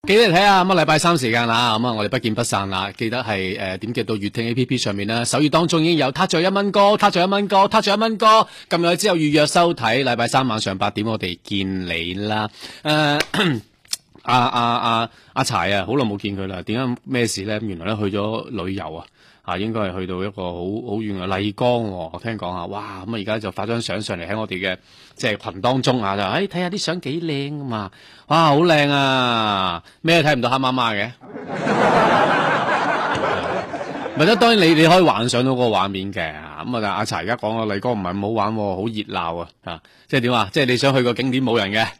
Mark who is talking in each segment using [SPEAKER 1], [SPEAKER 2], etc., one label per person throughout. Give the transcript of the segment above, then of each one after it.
[SPEAKER 1] 記得睇下咁啊，禮拜三時間啦，咁啊，我哋不見不散啦。記得係點擊到粵聽 A P P 上面啦，首頁當中已經有撻著1蚊歌，撻著1蚊歌，撻著1蚊歌。撳入去之後預約收睇，禮拜三晚上8點我哋見你啦。阿柴啊，好耐冇見佢啦。點解咩事咧？原來咧去咗旅遊啊。應該係去到一個好遠嘅麗江喎，我聽講啊，哇！咁啊而家就發張相上嚟喺我哋嘅即係群當中啊，就睇下啲相幾靚啊嘛，哇！好靚啊，咩都睇唔到黑媽媽嘅，咪得當然你可以幻想到嗰個畫面嘅，咁啊阿柴而家講嘅麗江唔係咁好玩喎，好熱鬧啊，即係點啊？即係你想去個景點冇人嘅。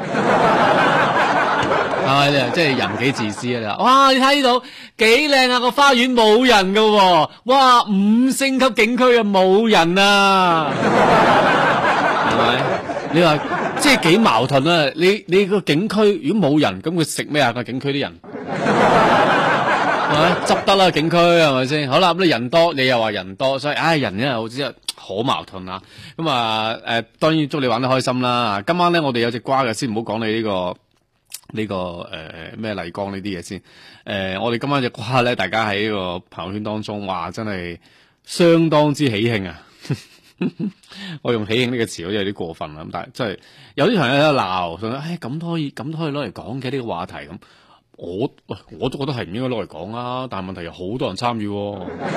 [SPEAKER 1] 即係人幾自私啊！哇，你睇到幾靚啊，個花園冇人噶喎，哇，5星級景區啊冇人啊，係咪？你話即係幾矛盾啊？你個景區如果冇人，咁佢食咩啊？個景區啲人係咪執得啦？景區係咪先？好啦，咁你人多，你又話人多，所以人真係好似好矛盾啊！咁啊當然祝你玩得開心啦！今晚咧我哋有隻瓜嘅，先唔好講你呢個咩麗江呢啲嘢先，我哋今晚隻瓜咧，大家喺呢個朋友圈當中，哇，真係相當之喜慶啊！我用喜慶呢個詞好似有啲過分啦，咁但係真係有啲朋友喺度鬧，咁咁都可以攞嚟講嘅呢個話題咁，我都覺得係唔應該攞嚟講啊，但係問題有好多人參與喎。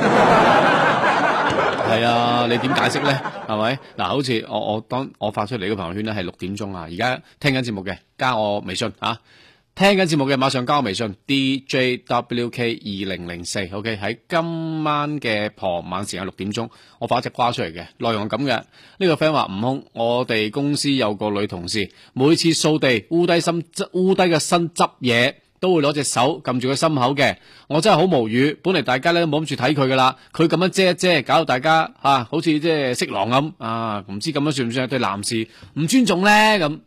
[SPEAKER 1] 係啊，你點解釋咧？係咪嗱？好似當我發出嚟嘅朋友圈咧，係6點鐘啊！而家聽緊節目嘅，加我微信啊！聽緊節目嘅，馬上加我微信 DJWK2004。OK， 喺今晚嘅傍晚時間6點鐘，我發一隻瓜出嚟嘅，內容係咁嘅。呢個 friend 話：悟空，我哋公司有個女同事，每次掃地烏低個身執嘢，都會攞隻手撳住個心口嘅，我真係好無語。本嚟大家咧都冇諗住睇佢噶啦，佢咁樣遮一遮，搞到大家好似即係色狼咁啊！唔知咁樣算唔算係對男士唔尊重咧？咁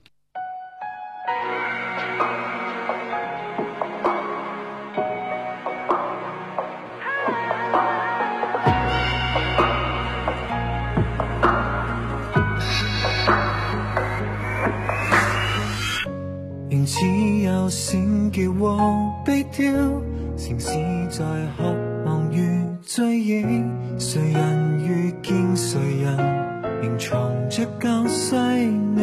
[SPEAKER 2] 仍似有閃叫和悲調，城市在渴望與追憶，誰人遇見誰人，仍藏着舊細膩。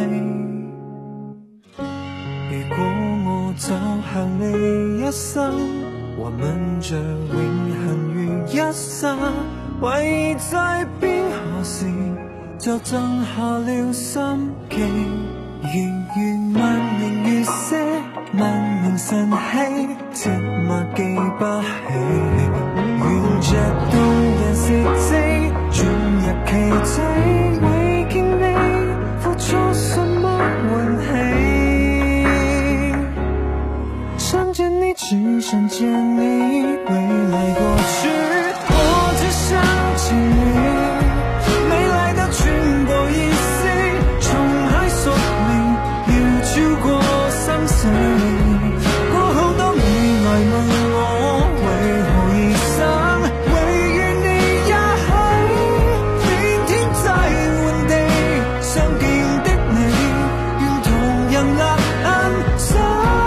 [SPEAKER 2] 如果我走向你一生，還吻着永恆如一剎，唯在邊何時就震下了心機。如萬年月色，萬年晨曦，寂寞記不起，沿着動人事跡，進入奇蹟，未見你付出什麼運氣，想見你只想見你，未來過去，我只想見你，沒來的全部意思，從海索超過生死，過好多未來問我為何而生，唯願你也許明天再換地，相見的你願同人吶喊想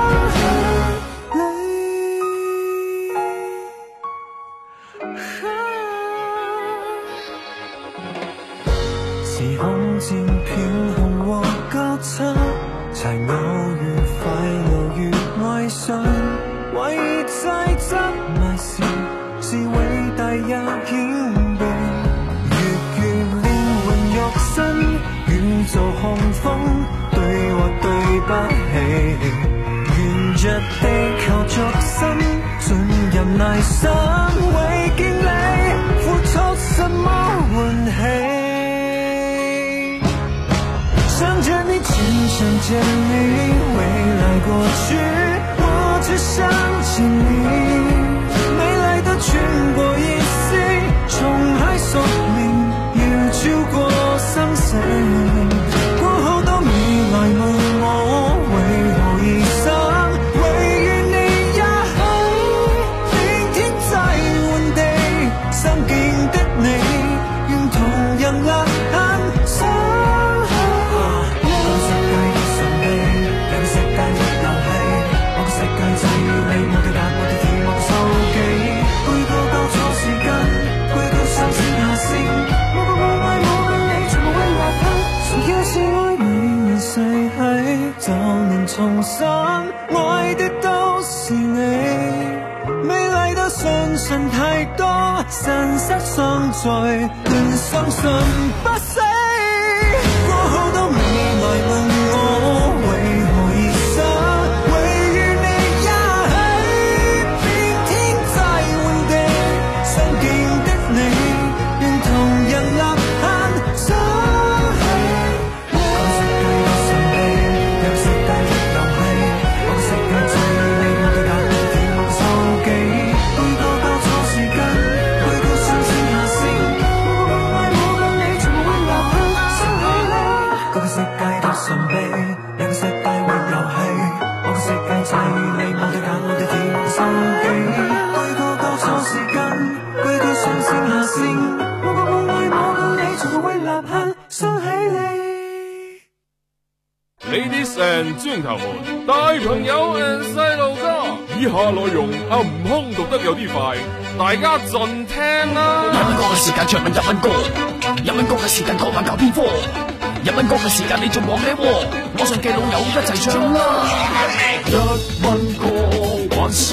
[SPEAKER 2] 你，時空漸變紅和交叉，才偶遇快樂與愛上，為在執迷時是偉大也謙卑，越靈魂肉身，宇宙洪峰對或對不起，沿着地球逐身進入內心，為見你付出什麼換起，想見你只想見你，未來過去，我只想見你，沒來的全部意思，從海索命，要超過生死，過後都未來問我為何而生，唯願你也許明天再換地，相見的你願同人吶喊想相信太多，神失喪在，更相信不死。過好多未來問我為何而生，唯願你也喺遍天際換地，相見的你願同人立限相起。個世界有神秘，有世界的遊戲，我世界最美，我對眼我對天望手機，每個交錯時間，每個上升下升，我個夢為我跟你從會立刻相起你。個世界的神秘，有個世界會遊戲，我個世界最美，我對眼我對天望手機，每個交錯時間，每個上升下升，我個夢為我跟你從會立刻相起你。
[SPEAKER 3] Ladies and gentlemen， 大朋友 and 細路哥，以下內容阿悟空讀得有啲快，大家盡聽啦。
[SPEAKER 4] 日文歌嘅時間唱緊日文歌，日文歌嘅時間講翻教邊科，日文歌嘅時間你仲望咩喎？網上嘅老友一齊唱啦！
[SPEAKER 2] 日文歌玩晒，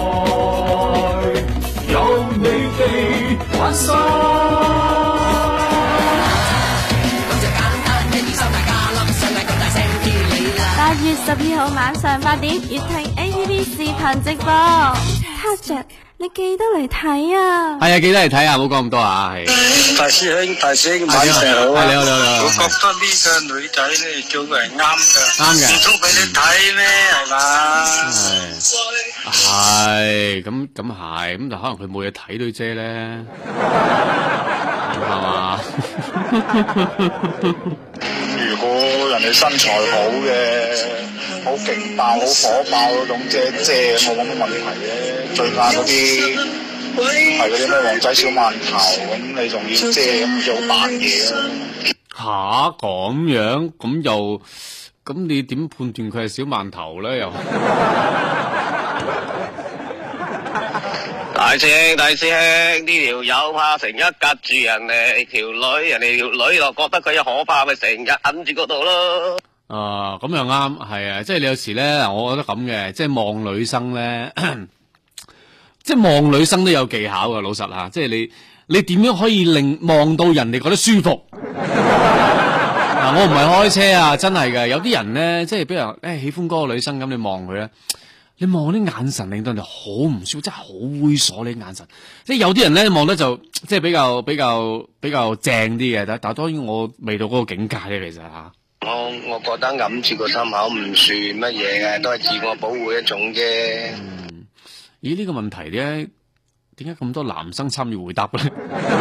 [SPEAKER 2] 有你哋玩晒。
[SPEAKER 5] 8月12號晚上8點，粵聽 ATV 視頻直播。Touch， 你記得嚟睇啊！
[SPEAKER 1] 係啊，記得嚟睇啊，唔好講咁多啊，係。
[SPEAKER 6] 大師兄，晚上好啊！
[SPEAKER 1] 你好，你好。
[SPEAKER 6] 我覺得呢個女仔咧做嘅係啱嘅，
[SPEAKER 1] 啱嘅。
[SPEAKER 6] 唔通俾你睇咩？係嘛？
[SPEAKER 1] 係，咁係，咁就可能佢冇嘢睇對啫咧，係嘛？
[SPEAKER 7] 如果人哋身材好嘅，好勁爆、好火爆嗰種遮，冇咁嘅問題嘅。最怕嗰啲係嗰啲咩旺仔小饅頭，咁你仲要遮，咁就好扮嘢啊！
[SPEAKER 1] 吓，咁樣，咁你點判斷佢係小饅頭咧？又
[SPEAKER 8] 大師兄，呢條友怕成日夾住人哋條女，人哋條女又覺得佢有可怕，咪成日揞住嗰度咯。
[SPEAKER 1] 咁又啱，係啊，即係你有時咧，我覺得咁嘅，即係望女生咧，即係望女生都有技巧噶，老實吓，即係你點樣可以令望到人哋覺得舒服？嗱，我唔係開車啊，真係嘅，有啲人咧，即係比如喜歡嗰個女生咁，你望佢咧。你望啲眼神令到人哋好唔舒服，真係好猥瑣呢啲眼神。即係有啲人咧望得就即係比較正啲嘅，但係當然我未到嗰個境界咧，其實吓。
[SPEAKER 8] 我覺得揞住個心口唔算乜嘢嘅，都係自我保護一種啫。
[SPEAKER 1] 咦？呢個問題咧，點解咁多男生參與回答咧？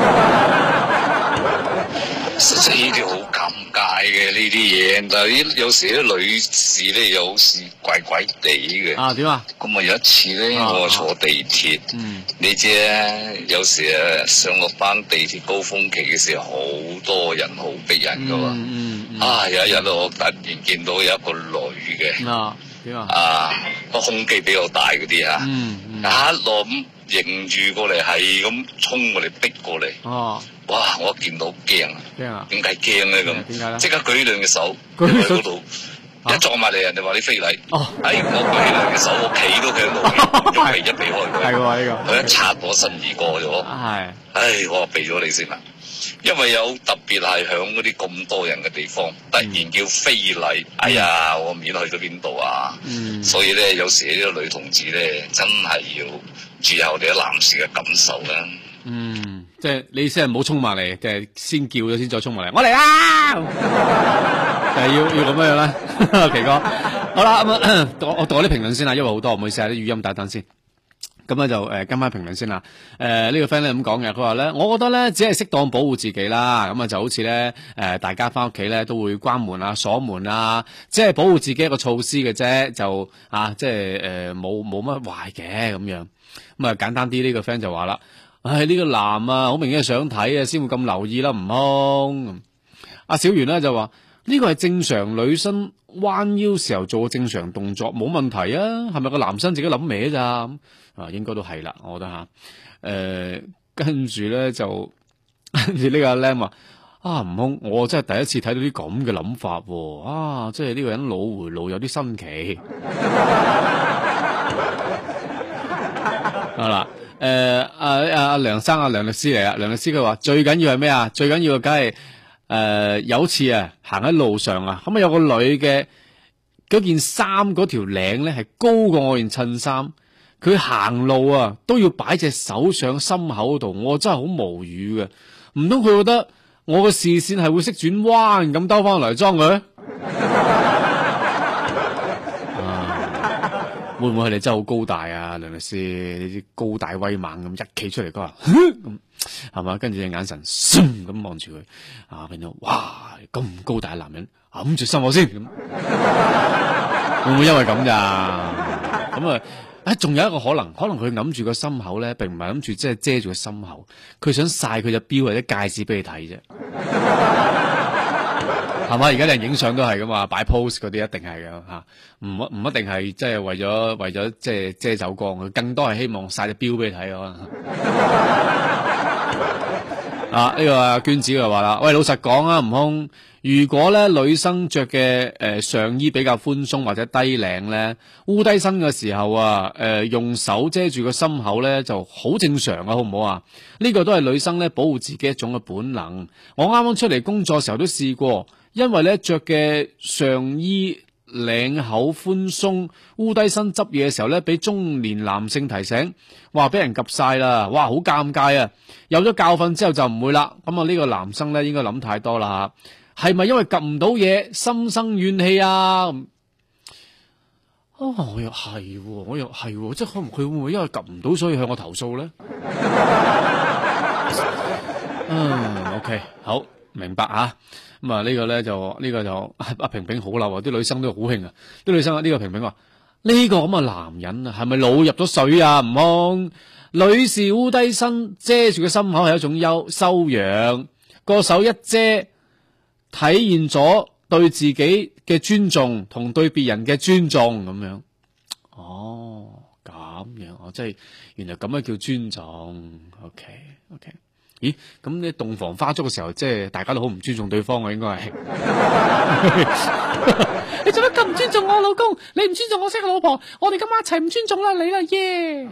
[SPEAKER 7] 實際呢啲好尷尬嘅呢啲嘢，但係有時啲女士咧又好似怪怪地嘅。
[SPEAKER 1] 啊，點啊？
[SPEAKER 7] 咁啊有一次咧，我坐地鐵，你知咧，有時上落班地鐵高峰期嘅時候，好多人好逼人噶嘛。有一日我突然見到有一個女嘅，
[SPEAKER 1] 點啊？
[SPEAKER 7] 個胸肌比較大嗰啲啊，一路咁迎住過嚟，係咁衝過嚟逼過嚟。哇！我見到驚啊！點解驚咧咁？點解咧？即刻舉兩隻手，舉喺嗰度，一撞埋嚟，人哋話你非禮。我舉起兩隻手，我企都企喺度，一避開佢。係喎呢個。佢一擦我身而過咗。係。我話避咗你先啦，因為有特別係響嗰啲咁多人嘅地方，突然叫非禮，哎呀，我面去到邊度啊？所以咧，有時呢個女同志咧，真係要注意下我哋啲男士嘅感受啦。
[SPEAKER 1] 即係你先係唔好衝埋嚟，定係先叫咗先再衝埋嚟？我嚟啦！就係要咁樣啦，奇哥。好啦，咁我讀啲評論先啦，因為好多，唔好意思啊，啲語音等等先。咁咧就跟翻評論先啦。呢個 friend 咧咁講嘅，佢話咧，我覺得咧只係適當保護自己啦。咁啊就好似咧大家翻屋企咧都會關門啊、鎖門啊，即係保護自己一個措施嘅啫，就即係冇乜壞嘅咁樣。咁啊簡單啲，呢個 friend 就話啦。呢個男啊，好明顯係想睇啊，先會咁留意啦，悟空。阿小圓咧就話呢個係正常女生彎腰時候做嘅正常動作，冇問題啊。係咪個男生自己諗歪咋？應該都係啦，我覺得吓。跟住咧就跟住呢個阿 Lam 話悟空，我真係第一次睇到啲咁嘅諗法喎。即係呢個人腦回路有啲新奇。好啦。 梁生梁律師嚟啊，梁律師佢話最緊要係咩啊？最緊要梗係有次啊行喺路上啊，咁啊有個女嘅嗰件衫嗰條領咧係高過我件襯衫，佢行路啊都要擺隻手上心口度，我真係好無語嘅。唔通佢覺得我嘅視線係會識轉彎咁兜翻嚟裝佢？會唔會係你真係好高大啊，梁律師？你啲高大威猛咁一企出嚟，佢話咁係嘛？跟住隻眼神咁望住佢啊，變到哇咁高大嘅男人揞住心口先，咁會唔會因為咁咋？咁啊，仲有一個可能佢揞住個心口咧，並唔係諗住即係遮住個心口，佢想曬佢隻錶或者戒指俾你睇啫。係嘛？而家啲人影相都係噶嘛，擺 pose 嗰啲一定係噶吓，唔一定係即係為咗即係遮走光，佢更多係希望晒隻錶俾你睇可能。啊，呢個阿娟子就話啦，喂，老實講啊，悟空，如果咧女生着嘅上衣比較寬鬆或者低領咧，烏低身嘅時候啊，用手遮住個心口咧就好正常啊，好唔好啊？呢個都係女生咧保護自己一種嘅本能。我啱啱出嚟工作嘅時候都試過。因為咧着嘅上衣領口寬鬆，烏低身執嘢嘅時候咧，俾中年男性提醒，話俾人及晒啦，哇，好尷尬啊！有咗教訓之後就唔會啦。咁啊，呢個男生咧應該諗太多啦吓，係咪因為及唔到嘢，心生怨氣啊？我又係，即係可能佢會唔會因為及唔到所以向我投訴咧？OK， 好，明白啊。咁啊，呢個就阿平平好嬲啊！啲女生都好興啊！啲女生呢個平平話：呢個咁嘅男人啊，係咪腦入咗水啊？唔通女士烏低身遮住個心口係一種修養，個手一遮，體現咗對自己嘅尊重同對別人嘅尊重咁樣。哦，咁樣即係原來咁樣叫尊重。OK。咦，咁你洞房花燭嘅時候，即係大家都好唔尊重對方啊，應該係。你做乜咁唔尊重我老公？你唔尊重我識嘅老婆，我哋今晚一齊唔尊重啦你啦耶！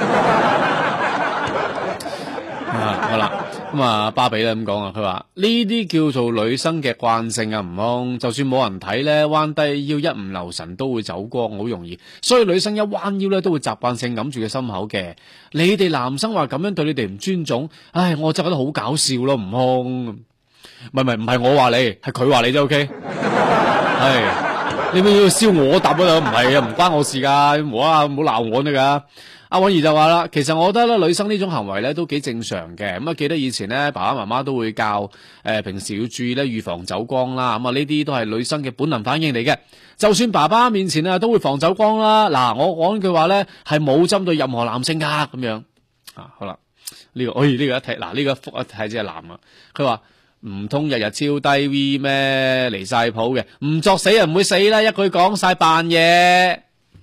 [SPEAKER 1] 好啦，咁啊巴比咧咁講啊，佢話呢啲叫做女生嘅慣性啊，唔通就算冇人睇咧，彎低腰一唔留神都會走光，好容易。所以女生一彎腰咧，都會習慣性揞住個心口嘅。你哋男生話咁樣對你哋唔尊重，唉，我真係覺得好搞笑咯，唔通？唔係我話你，係佢話你啫 ，OK？ 係你咪要燒我答啊？唔係啊，唔關我事噶，唔好鬧我得噶。阿允兒就話啦，其實我覺得咧，女生呢種行為咧都幾正常嘅。咁啊，記得以前咧，爸爸媽媽都會教平時要注意咧預防走光啦。咁啊，呢啲都係女生嘅本能反應嚟嘅。就算爸爸面前啊，都會防走光啦。嗱，我講句話咧，係冇針對任何男性噶咁樣。啊，好啦，呢個一睇，嗱呢個福一睇只係男啊。佢話唔通日日超低 V 咩？離晒譜嘅，唔作死人唔會死啦，一句講晒扮嘢。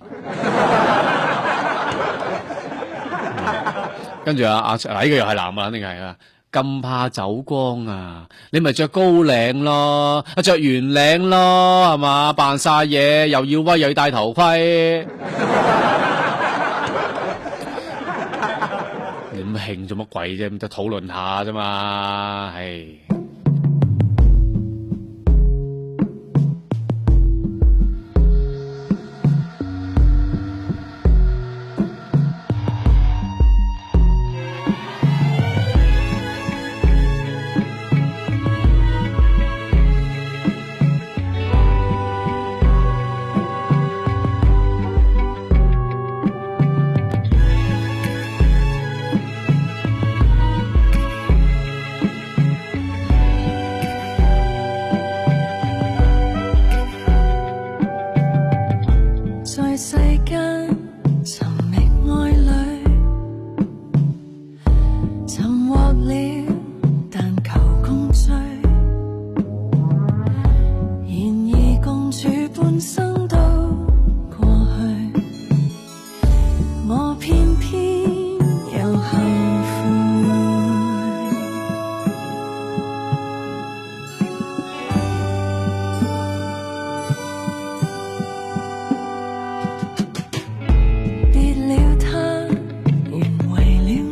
[SPEAKER 1] 跟住呢個又係男啊，肯定係啊！咁怕走光啊，你咪着高領咯，着圓領咯，係嘛？扮晒嘢，又要威又要戴頭盔，你咁興做乜鬼啫？咁就討論下啫嘛，唉。
[SPEAKER 2] 別了他，原為了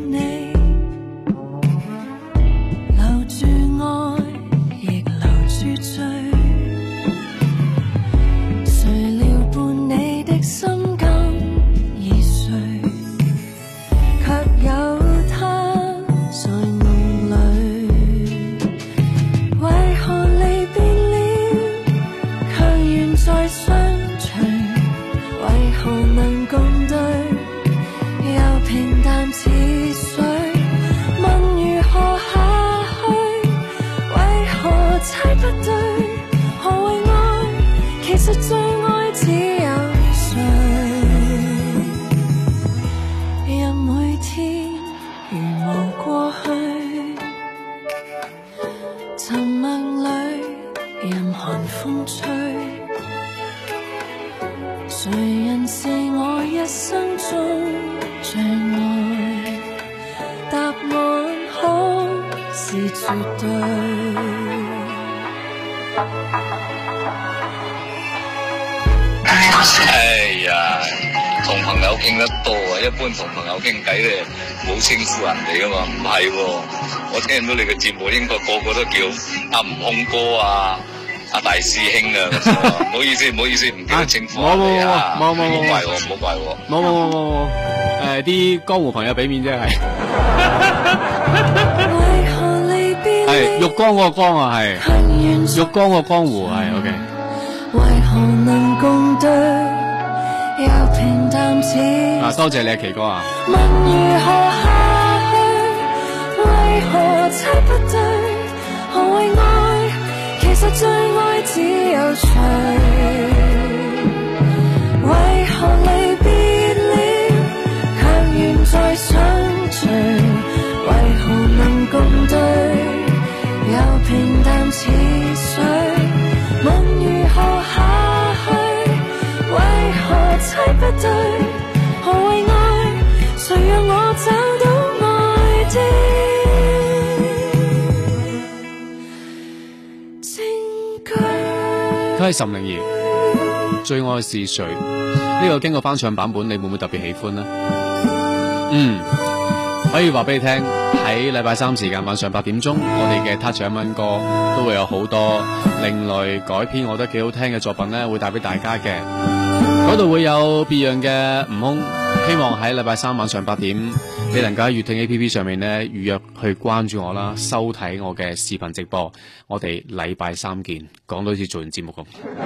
[SPEAKER 2] 中最愛，答案可是絕對。
[SPEAKER 7] 哎呀，同朋友傾得多啊，一般同朋友傾偈咧冇稱呼人哋噶嘛，唔係喎，我聽到你嘅節目應該個個都叫阿悟空哥啊。阿大師兄啊，唔好意思，唔好意思，唔記得稱呼你啊，唔好怪我，唔好怪我，
[SPEAKER 1] 冇，啲江湖朋友俾面啫，係，係玉江嗰個江啊，係，玉江個江湖係 ，OK。
[SPEAKER 2] 為何能共對，又平淡似
[SPEAKER 1] 啊，多謝你啊，奇哥啊。
[SPEAKER 2] 問如何下去，為何猜不對，何謂愛？其實最愛只有誰，為何離別了，強願再相聚？為何能共對，又平淡似水？問如何下去，為何猜不對，何謂愛？誰讓我找到愛的
[SPEAKER 1] 佢係岑寧兒，最愛是誰？呢個經過翻唱版本，你會唔會特別喜歡呢？可以話俾你聽，喺禮拜三時間晚上8點鐘，我哋嘅 Touch 一蚊歌都會有好多另類改編，我覺得幾好聽嘅作品呢，會帶俾大家嘅。嗰度會有別樣嘅悟空，希望喺禮拜三晚上8點，你能夠喺粵聽 APP 上面呢預約去關注我啦，收睇我嘅視頻直播。我哋禮拜三見，講到好似做完節目咁。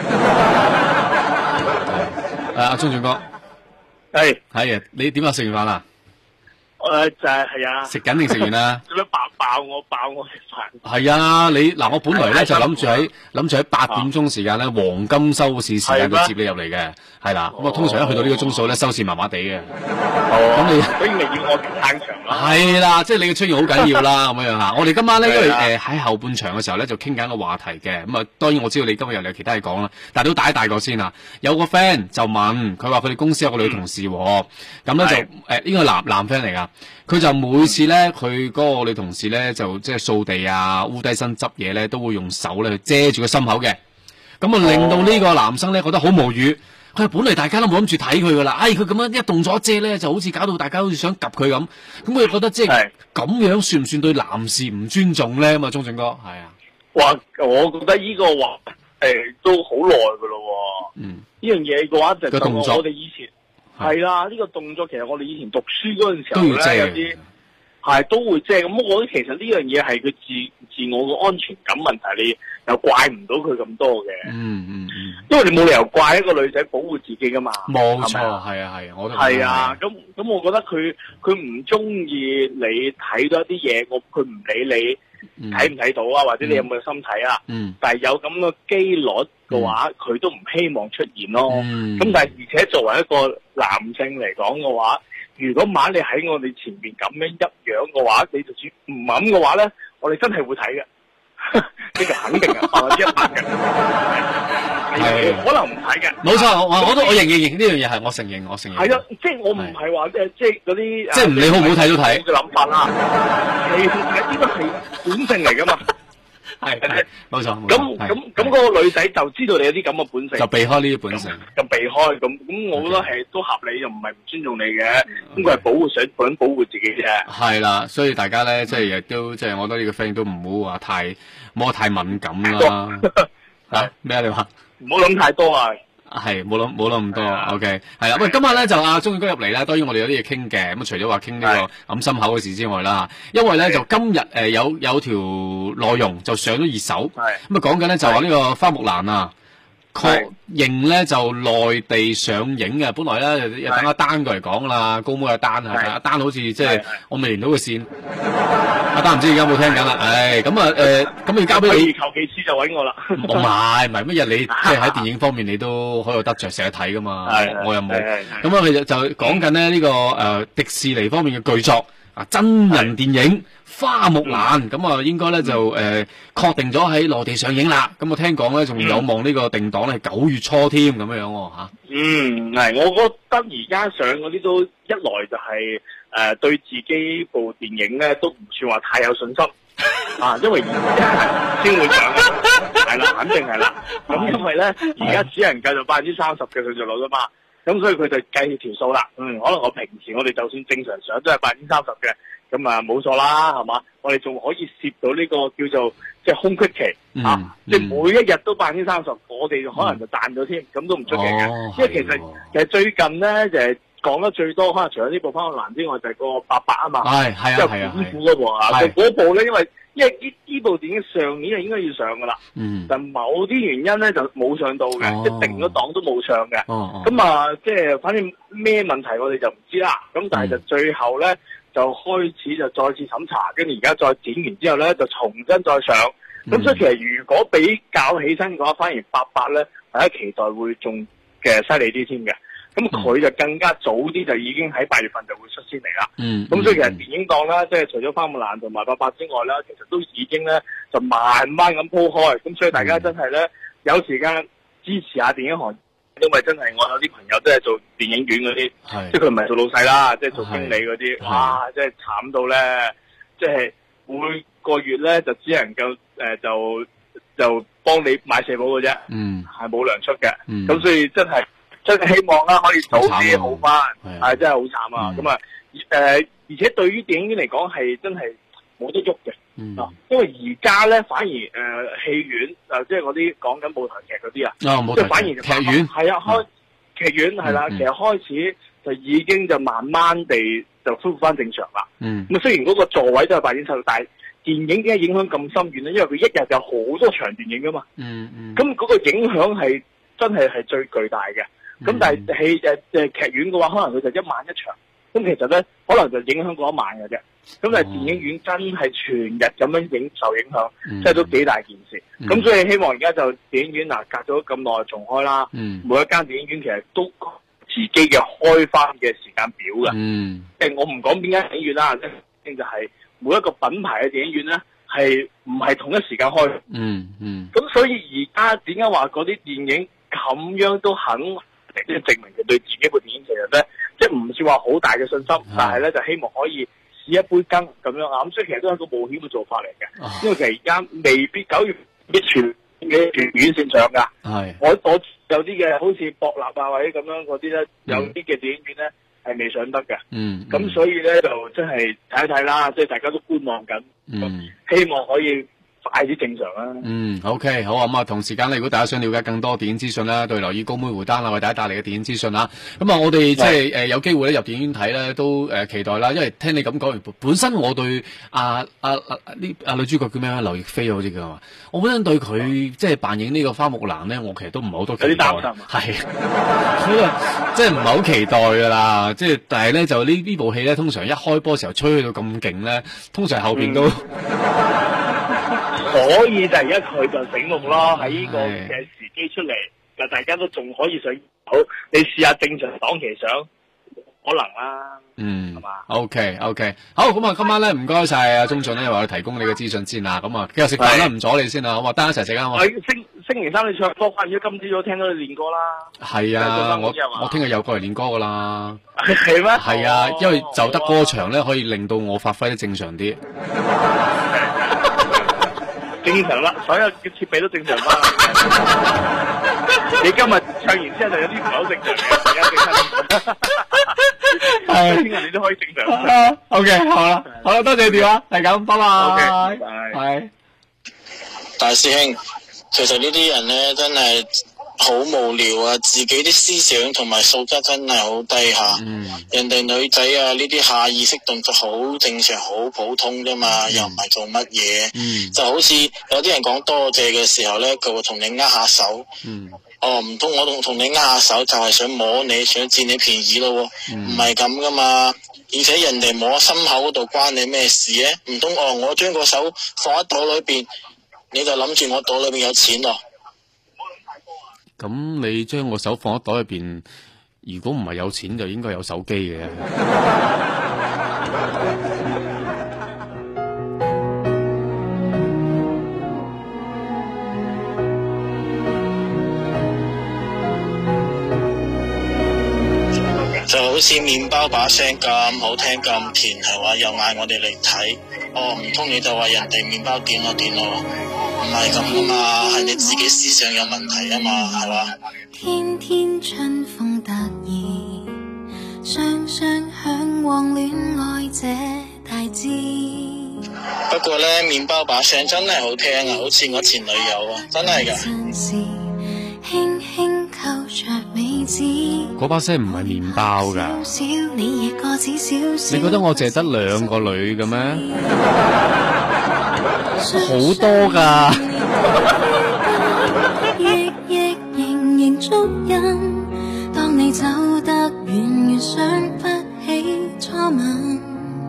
[SPEAKER 1] 阿鐘俊哥，係啊，你點啊？食完飯啦？
[SPEAKER 9] 就係啊，
[SPEAKER 1] 食緊定食完啦？
[SPEAKER 9] 做咩爆我食飯？
[SPEAKER 1] 係啊，你嗱，我本來咧就諗住喺8點鐘時間咧，黃金收視時間度接你入嚟嘅，係啦。咁啊，通常一去到呢個鐘數咧，收視麻麻地嘅。咁你
[SPEAKER 9] 所以咪要我撐場啦。
[SPEAKER 1] 係啦，即係你嘅出現好緊要啦，咁樣吓。我哋今晚咧，因為喺後半場嘅時候咧，就傾緊一個話題嘅。咁啊，當然我知道你今日又有其他嘢講啦，但係都大個先啦。有個 friend 就問佢話，佢哋公司有個女同事，咁咧就呢個男 friend 嚟噶。佢就每次咧，佢嗰個女同事咧，就即係掃地啊、烏低身執嘢咧，都會用手咧去遮住個心口嘅。咁啊，令到呢個男生咧覺得好無語。佢本嚟大家都冇諗住睇佢噶啦，佢咁樣一動咗遮咧，就好似搞到大家好似想及佢咁。咁佢覺得即係咁樣算唔算對男士唔尊重咧？咁啊，鐘俊哥係啊。
[SPEAKER 9] 哇！我覺得呢個話都好耐噶咯。呢樣嘢嘅話就同我哋以前。係啦，呢個動作其實我哋以前讀書嗰陣時候咧，有啲係都會遮。咁我覺得其實呢樣嘢係佢自我嘅安全感問題，你又怪唔到佢咁多嘅。因為你冇理由怪一個女仔保護自己噶嘛。
[SPEAKER 1] 冇錯，係啊，我都
[SPEAKER 9] 係啊。咁我覺得佢唔中意你睇到一啲嘢，佢唔理你睇唔睇到啊，或者你有冇心睇啊。但係有咁嘅機率嘅話，佢都唔希望出現咯。咁但係而且作為一個男性嚟講嘅話，如果晚你喺我哋前面咁樣一樣嘅話，你就算唔諗嘅話咧，我哋真係會睇嘅。呢個肯定嘅，100%嘅。係可能唔睇嘅。
[SPEAKER 1] 冇錯，我認呢樣嘢係我承認。
[SPEAKER 9] 係啊，即係我唔係話即係嗰啲
[SPEAKER 1] 即係唔理好唔好睇都睇
[SPEAKER 9] 嘅諗法啦。係呢個係本性嚟噶嘛。
[SPEAKER 1] 係冇錯。
[SPEAKER 9] 咁嗰個女仔就知道你有啲咁嘅本性，
[SPEAKER 1] 就避開呢啲本性，
[SPEAKER 9] 就避開咁，我覺得係都合理，就唔係唔尊重你嘅。咁佢係想保護自己啫。
[SPEAKER 1] 係啦，所以大家咧，即係亦都即係，我覺得呢個 friend 都唔好話太敏感啦。咩啊？你話
[SPEAKER 9] 唔好諗太多啊！
[SPEAKER 1] 係冇諗咁多。OK， 係啦。喂，今日咧就阿鐘宇哥入嚟咧，當然我哋有啲嘢傾嘅。咁除咗話傾呢個揞心口嘅事之外啦，因為咧就今日有條內容就上咗熱搜，咁啊講緊咧就話呢個花木蘭啊，確認咧就內地上映嘅。本來咧等阿丹過嚟講啦，高妹阿丹係阿丹好似即係我未連到個線，阿丹唔知而家有冇聽緊啦。咁要交俾你，
[SPEAKER 9] 求其次就揾我啦。
[SPEAKER 1] 唔係乜嘢，你即係喺電影方面你都好有得着，成日睇噶嘛。我又冇。咁啊，佢就講緊咧呢個迪士尼方面嘅巨作真人電影花木蘭，咁啊應該咧就確定咗喺內地上映啦。咁我聽講咧仲有望呢個定檔咧係9月初添咁樣喎嚇。
[SPEAKER 9] 係，我覺得而家上嗰啲都一來就係對自己部電影咧都唔算話太有信心啊，因為而家先會上，係啦，肯定係啦。咁因為咧而家只能夠就30%嘅上座率啫嘛。咁所以佢就計條數啦，可能我平時我哋就算正常上都係30%嘅，咁啊冇錯啦，係嘛？我哋仲可以攝到呢個叫做即係空隙期即係每一日都30%，我哋可能就賺咗添，咁都唔出奇嘅。因為其實最近咧就係講得最多，可能除咗呢部《花木蘭》之外，就係個《800》啊嘛，即係功夫嗰部啊，嗰部咧因為呢部電影上年係應該要上噶啦，但某啲原因咧就冇上到嘅，即係定咗檔都冇上嘅。咁啊，即係反正咩問題我哋就唔知啦。咁但係就最後咧就開始就再次審查，跟住而家再剪完之後咧就重新再上。咁所以其實如果比較起身嘅話，反而800咧大家期待會仲嘅犀利啲添嘅。咁佢就更加早啲就已經喺8月份就會率先嚟啦。咁所以其實電影檔啦，即係除咗花木蘭同埋800之外啦，其實都已經咧就慢慢咁鋪開。咁所以大家真係咧有時間支持下電影行業，因為真係我有啲朋友都係做電影院嗰啲，即係佢唔係做老細啦，即係做經理嗰啲，哇！即係慘到咧，即係每個月咧就只能夠就幫你買社保嘅啫，係冇糧出嘅。咁所以真係希望啦，可以早啲好翻，係真係好慘啊！咁啊，而且對於電影院嚟講係真係冇得喐嘅，因為而家咧反而戲院即係嗰啲講緊舞台劇嗰啲啊，即係反而劇院係開劇院係啦，其實開始就已經就慢慢地就恢復翻正常啦。咁雖然嗰個座位都係8.7，但係電影點解影響咁深遠咧？因為佢一日有好多場電影噶嘛，咁嗰個影響係真係最巨大嘅。咁但係劇院嘅話，可能佢就1晚1場，咁其實咧可能就影響嗰1晚嘅啫。咁但係電影院真係全日咁樣受影響，即係都幾大件事。咁所以希望而家就電影院隔咗咁耐重開啦，每一間電影院其實都自己嘅開翻嘅時間表嘅。即係我唔講邊間電影院啦，即就係每一個品牌嘅電影院咧係唔係同一時間開。咁所以而家點解話嗰啲電影咁樣都肯？即係證明佢對自己部電影其實咧，即係唔算話好大嘅信心，但係咧就希望可以試一杯羹咁樣啊！咁所以其實都係一個冒險嘅做法嚟嘅，因為其實而家未必9月全院線上㗎。我有啲嘅好似博納啊或者咁樣嗰啲咧，有啲嘅電影院咧係未上得嘅。咁所以咧就真係睇一睇啦，即係大家都觀望緊，希望可以快啲正常啦。
[SPEAKER 1] OK， 好啊。咁啊，同時間咧，如果大家想了解更多電影資訊啦，對留意高妹回單啦，為大家帶嚟嘅電影資訊啦。咁啊，我哋即係有機會咧入電影院睇咧，都期待啦。因為聽你咁講完，本身我對女主角叫咩啊？劉亦菲好似叫係嘛？我本身對佢即係扮演呢個花木蘭咧，我其實都唔係好多期待。有啲擔心。係，所以即係唔係好期待噶啦。即係但係咧，就呢部戲咧，通常一開波時候吹到咁勁咧，通常後邊都。
[SPEAKER 9] 所以就而家佢就醒目咯，喺呢個嘅時機出嚟，就大家都仲可以上好。你試下正常檔期上，可能啦。係嘛
[SPEAKER 1] ？OK， 好，咁啊，今晚咧唔該晒阿鍾俊咧，話提供你嘅資訊先啦。咁啊，繼續食飯啦，唔阻你先啦，好嘛？得一齊食啊，好嘛？
[SPEAKER 9] 星期三你唱歌，反正今朝早聽到你練歌啦。
[SPEAKER 1] 係啊，我聽日又過嚟練歌噶啦。
[SPEAKER 9] 係咩？
[SPEAKER 1] 係啊，因為就得歌場咧，可以令到我發揮得正常啲。
[SPEAKER 9] 正常啦，所有嘅設備都正常啦。你今日唱完之後就有啲唔係好正常嘅，而家正常。係，聽日你都可以正常。
[SPEAKER 1] OK， 好啦，多謝你電話，係咁，拜拜。
[SPEAKER 9] 拜。
[SPEAKER 10] 大師兄，其實呢啲人咧真係好無聊啊！自己啲思想同埋素質真係好低下。人哋女仔啊，呢啲下意識動作好正常，好普通啫嘛，又唔係做乜嘢。就好似有啲人講多謝嘅時候咧，佢會同你握下手。唔通我同你握下手就係想摸你，想佔你便宜咯？唔係咁噶嘛。而且人哋摸心口嗰度關你咩事咧？唔通我將個手放喺袋裏邊，你就諗住我袋裏邊有錢咯？
[SPEAKER 1] 咁你將個手放喺袋入邊，如果唔係有錢，就應該有手機嘅。
[SPEAKER 10] 好似麵包把聲咁好聽咁甜，係話又嗌我哋嚟睇。哦，唔通你就話人哋麵包點咯點咯？唔係咁噶嘛，係你自己思想有問題啊嘛，係嘛？
[SPEAKER 11] 天天春風得意，雙雙向往戀愛這大志。
[SPEAKER 10] 不過呢，麵包把聲真係好聽啊，好似我前女友啊，真係㗎。
[SPEAKER 11] 輕輕扣着尾指，
[SPEAKER 1] 嗰把聲唔係麵包㗎。你覺得我淨係得2個女嘅咩？好多㗎。
[SPEAKER 11] 亦仍然足印，當你走得遠，越想不起初吻。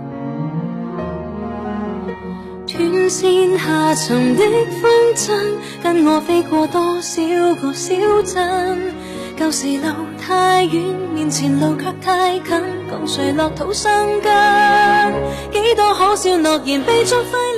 [SPEAKER 11] 斷線下沉的風箏，跟我飛過多少個小鎮。舊時路太遠，面前路卻太近，共誰落土生根？幾多可笑諾言被作廢。